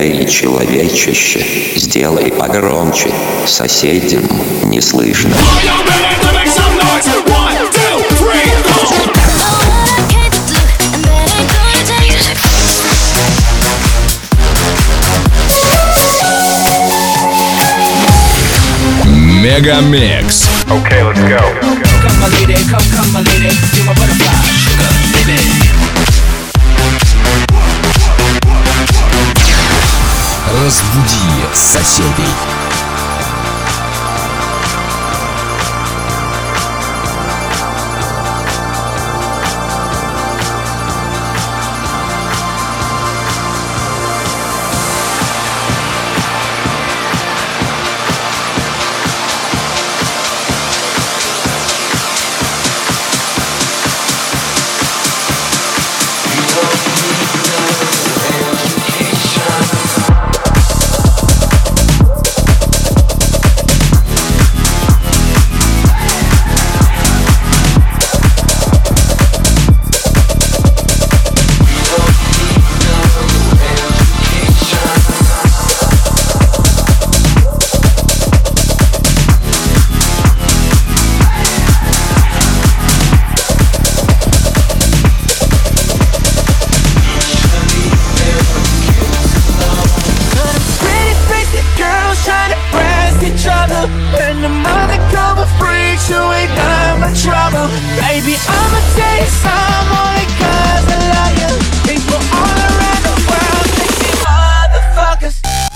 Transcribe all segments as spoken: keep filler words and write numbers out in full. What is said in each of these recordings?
Эй, человечище, сделай погромче, соседям не слышно. Мегамикс. Okay, let's go. Come my lady, come, come my lady, you're my butterfly, sugar, baby. Разбуди соседей. Baby, I'ma tell you some only cause I love you. People all around the world, sexy motherfuckers.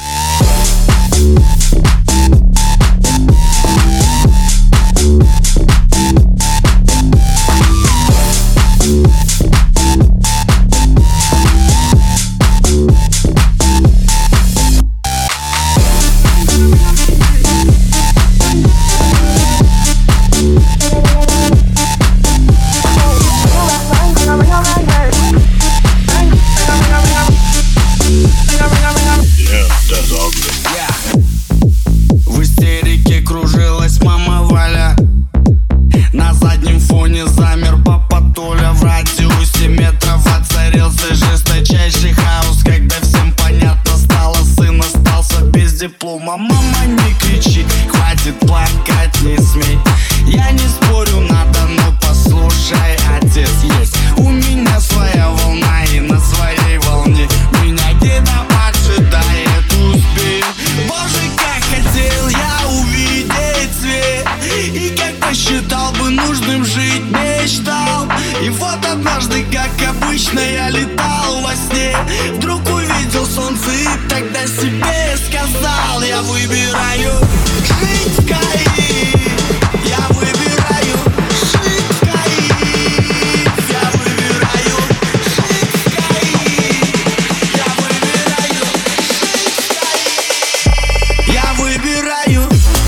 Мама, не кричи, хватит плакать, не смей. Я не спорю, надо, но послушай, отец есть. У меня своя волна, и на своей волне меня где-то поджидает успех. Боже, как хотел я увидеть свет, и как посчитал бы нужным жить, мечтал. И вот однажды, как обычно, я летал во сне. Вдруг увидел солнце и тогда себе сказал: я выбираю жить в Каире. Я выбираю жить в Каире. Я выбираю жить в Каире. Я выбираю жить в Каире. Я выбираю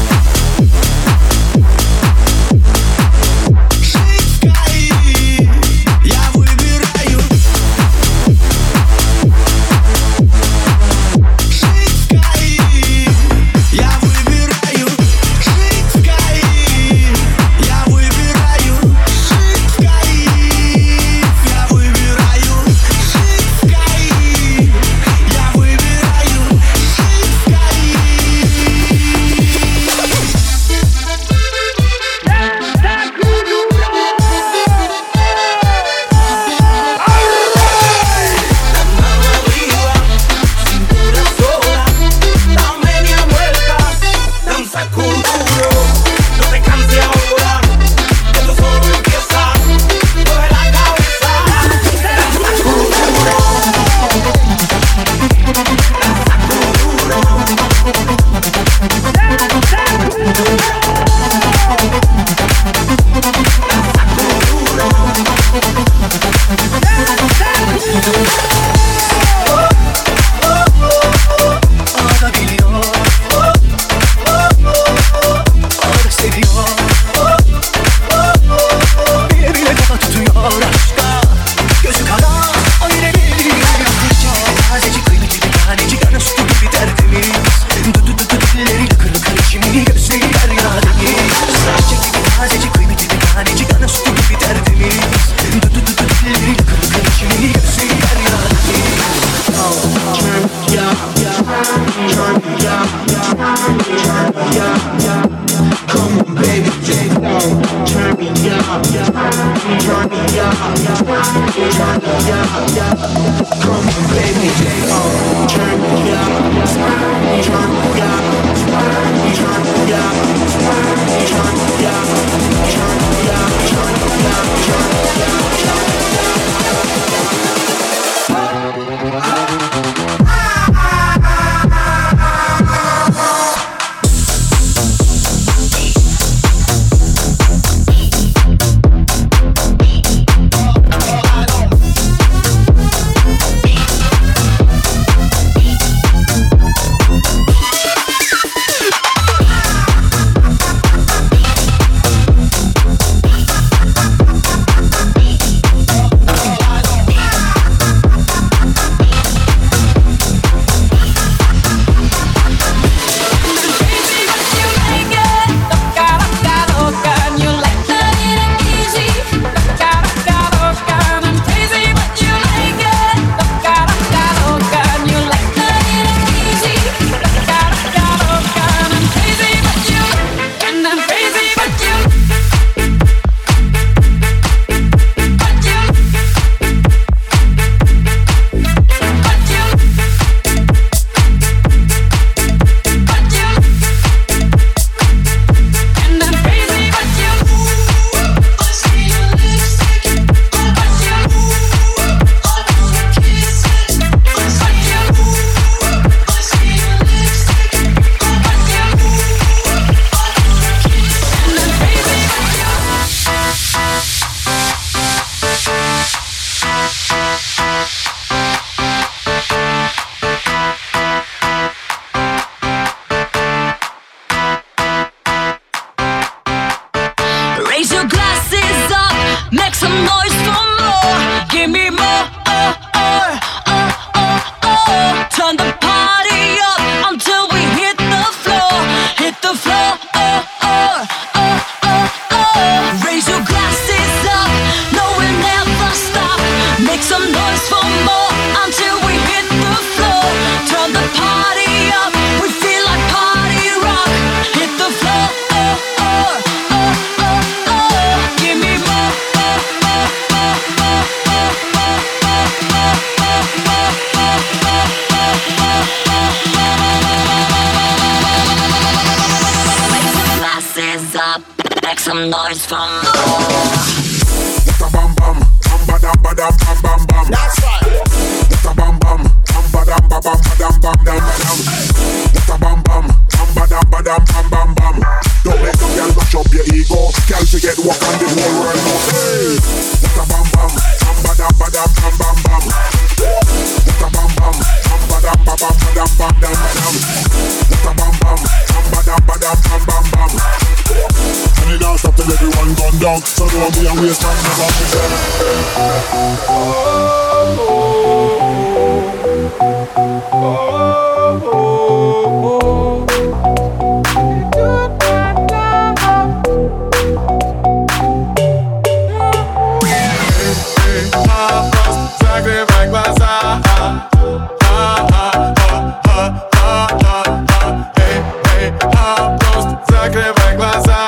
жить в Каире. Я выбираю жить в Каире. Я выбираю some noise from more. Bam bam, bam ba dam ba dam bam bam bam. That's right. Bam bam, bam ba dam ba bam ba dam bam dam dam. Bam bam, bam ba dam ba dam bam bam bam. Don't let some girl mash up your ego. Girl forget what on the whole world know. Hey. Bam bam, bam ba dam ba dam bam bam bam. Bam bam, bam ba dam ba bam ba dam bam dam dam. Bam bam, bam ba dam ba dam bam bam bam. And it don't stop till everyone gone down. So don't be a waste time, never forget. Oh, oh, oh, oh, oh, oh. Закрывай глаза. Эй, эй, просто закрывай глаза.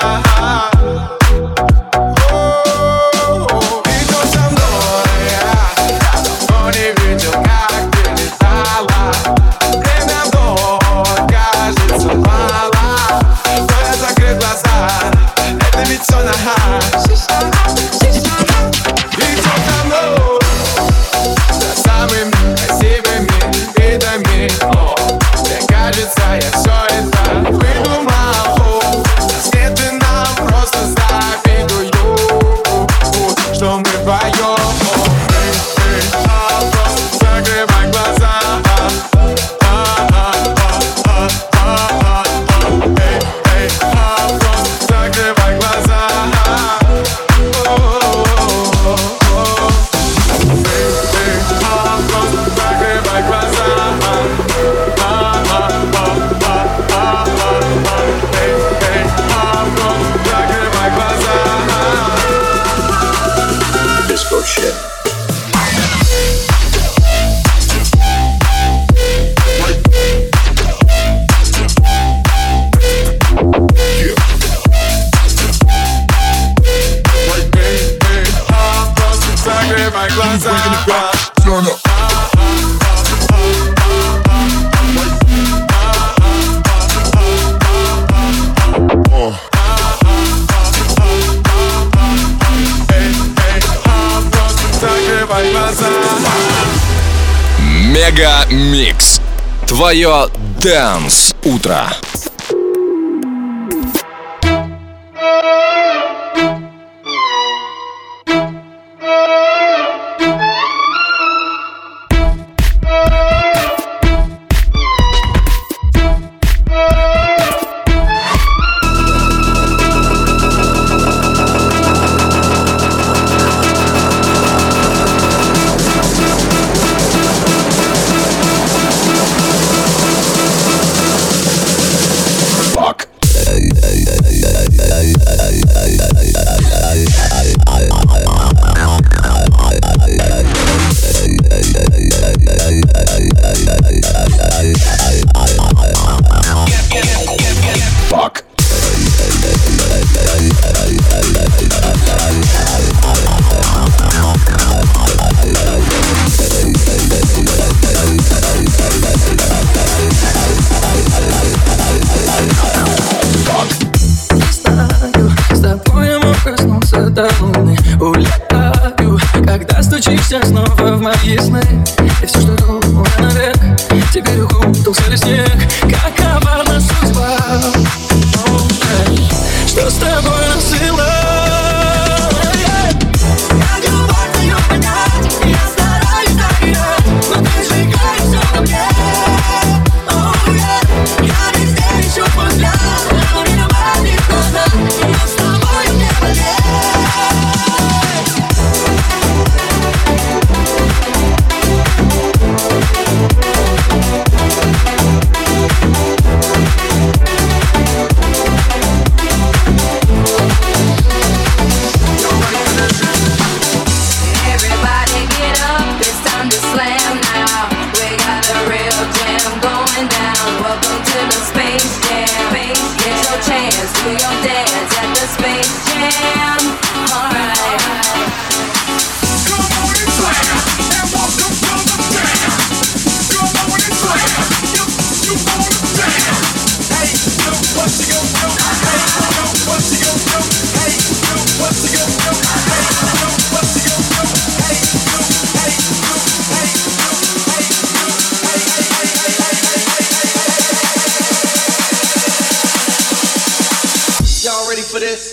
Мега Микс. Твое Dance утро. Улетаю, когда стучишься снова в мои сны. И все, что думал я навек, теперь укутался в снег. Какова наша судьба? Что с тобой насыло? Я любовь твою понять, я стараюсь доверять, но ты сжигаешь все на мне. Oh, yeah. Я везде ищу твой взгляд, но меня манит назад, но с тобой мне болезнь. Do your dance at the Space Jam. Alright. Come on and slam, and welcome to the jam. Come on and slam, you, you wanna jam. Hey, yo, what you gonna do? Hey, yo, what you gonna do? Hey, yo, what you gonna do? Hey, yo, what you gonna do? Hey, yo, hey, yo, hey, yo, hey, yo, hey, hey, hey, hey, hey, hey, hey. Y'all ready for this?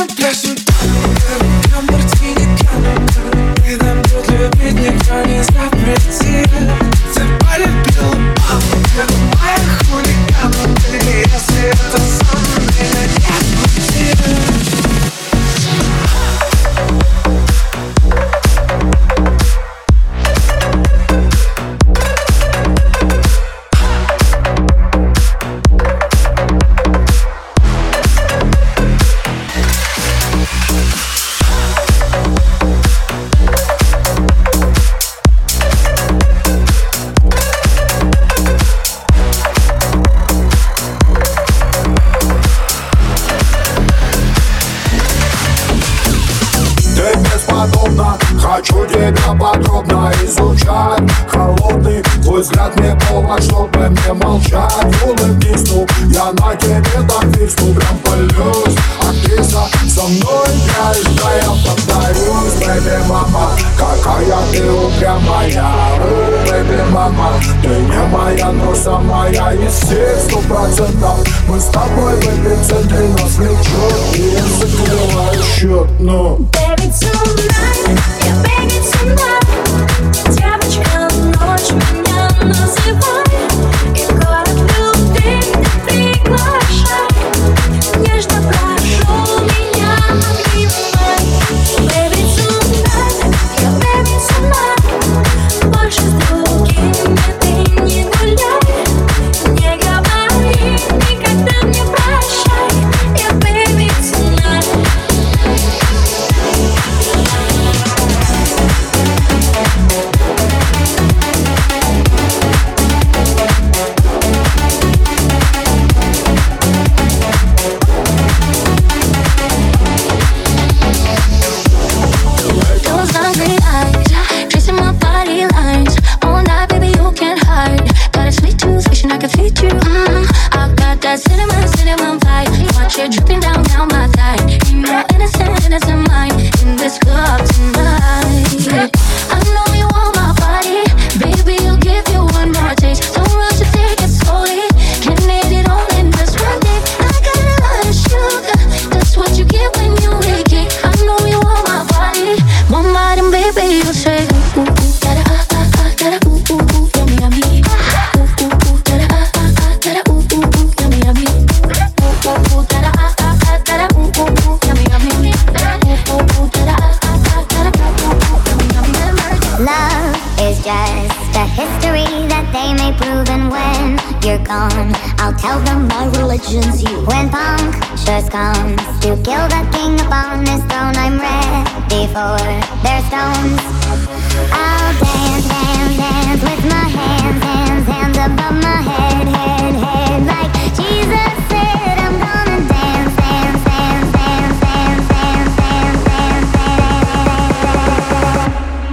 на пляже Прям мартини пьяным И нам тут любить никто не запретит Ты полюбила папу, моя хулигана Если это со мной, нет пути Хочу тебя подробно изучать. Холодный твой взгляд мне повод, чтобы мне молчать. Улыбнись, ну, я на тебе так висну, прям полюсь. Актриса, со мной играешь, да я повторюсь. Бэйби мама, какая ты упрямая. Бэйби мама, ты не моя, но самая из всех сто процентов. Мы с тобой в эпицентре, нас влечет. И я закрываю счет, ну. Baby, tonight, yeah, baby, tonight. Девочка, ночь меня называй. И город любви ты приглашай. Нежно прошу меня обнимай. Baby, tonight, yeah, baby, tonight. Больше с другими ты не гуляй. Не говори никогда мне прощай. Yeah, baby, tonight. Cinnamon, cinnamon pie. Watch it dripping down, down my thigh. You know innocent, innocent mind in this club tonight. I know you want my body, baby. I'll give you one more taste. Don't rush to take it slowly. Can't need it all in this one day. I got a lot of sugar. That's what you get when you wake it. I know you want my body, one more and baby, you say ooh ooh ooh, gotta ah ah ah, gotta ooh ooh ooh, yummy yummy. Ooh ooh ooh, gotta ah ah ah, gotta ooh ooh ooh, yummy yummy. Ooh ooh ooh, gotta ah ah ah, gotta ooh ooh ooh, yummy yummy. Ooh ooh ooh, gotta ah ah ah, gotta ooh ooh ooh, yummy yummy. Love is just a history that they may prove, and when you're gone, I'll tell them my religion's you. When punctures comes to kill the king upon his throne, I'm ready for their stones. I'll dance, dance, dance with my hands, hands, hands above my head, head, head. Like Jesus said, I'm gonna dance, dance, dance, dance, dance, dance, dance, dance, dance.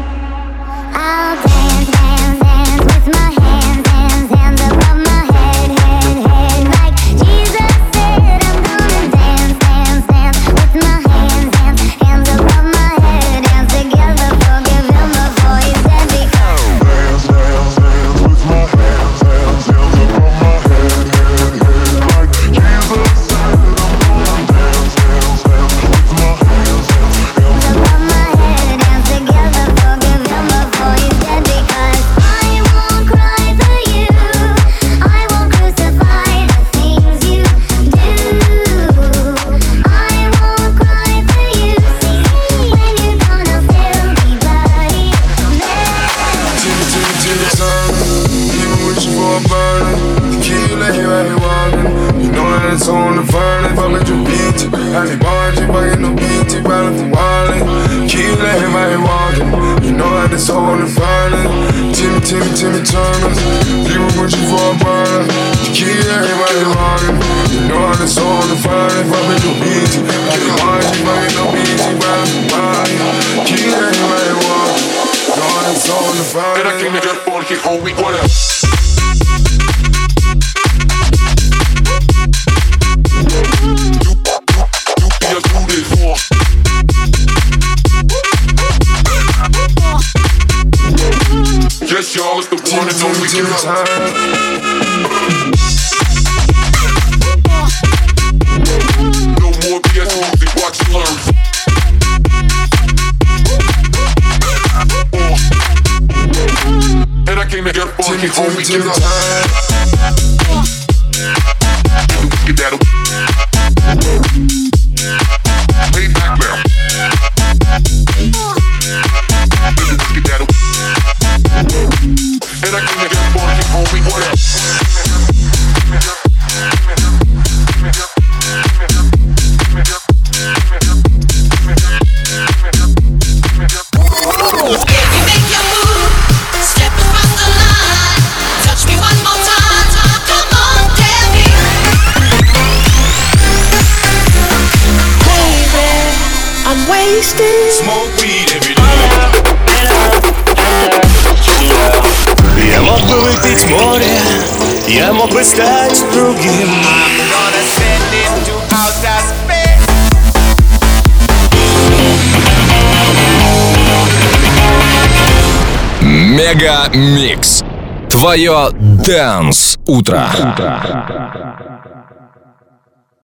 I'll dance, dance, dance with my hands, hands, hands above my head, head, head. Like Jesus said, I'm gonna dance, dance, dance with my hands, hands, hands above my head. Dance together, forgive him before he's dead, because Dance, dance, dance with my hands, hands, hands above my head, head, head. Like Jesus said, I'm gonna dance, dance, dance with my hands, hands, hands above my head. Dance together, forgive him before he's dead, because I won't cry for you. I won't crucify the things you do. I won't cry for you. See, when you're gone, I'll still be bloody. Timmy, Timmy, Timmy, son. Even wishing for a burner. Tequila, here I ain't walking. You know that it's on the burning. Fuck with your beat. I ain't barging, fucking no beat. Riding from Wally. Tequila, here I ain't walking. You know that it's on the burning. Timmy, Timmy, Timmy, Turner. Even wishing for a burner. Tequila, here I ain't walking. You know that it's on the burning. Fuck with your beat. I ain't barging, fucking no beat. Riding from Wally. Tequila, here I ain't walking. God, it's on the fire. Ven aquí, nigga, porque homie, what up? Yes, y'all, it's the one and only time. No more B S music, watch and learn. me, hold me till the time. Get that way back now. Get that and I can make that boy get on me. What up? Smoke weed every day. Я мог бы выпить море, я мог бы стать другим. I'm gonna send it to outer space. Мега Микс. Твое Dance утро.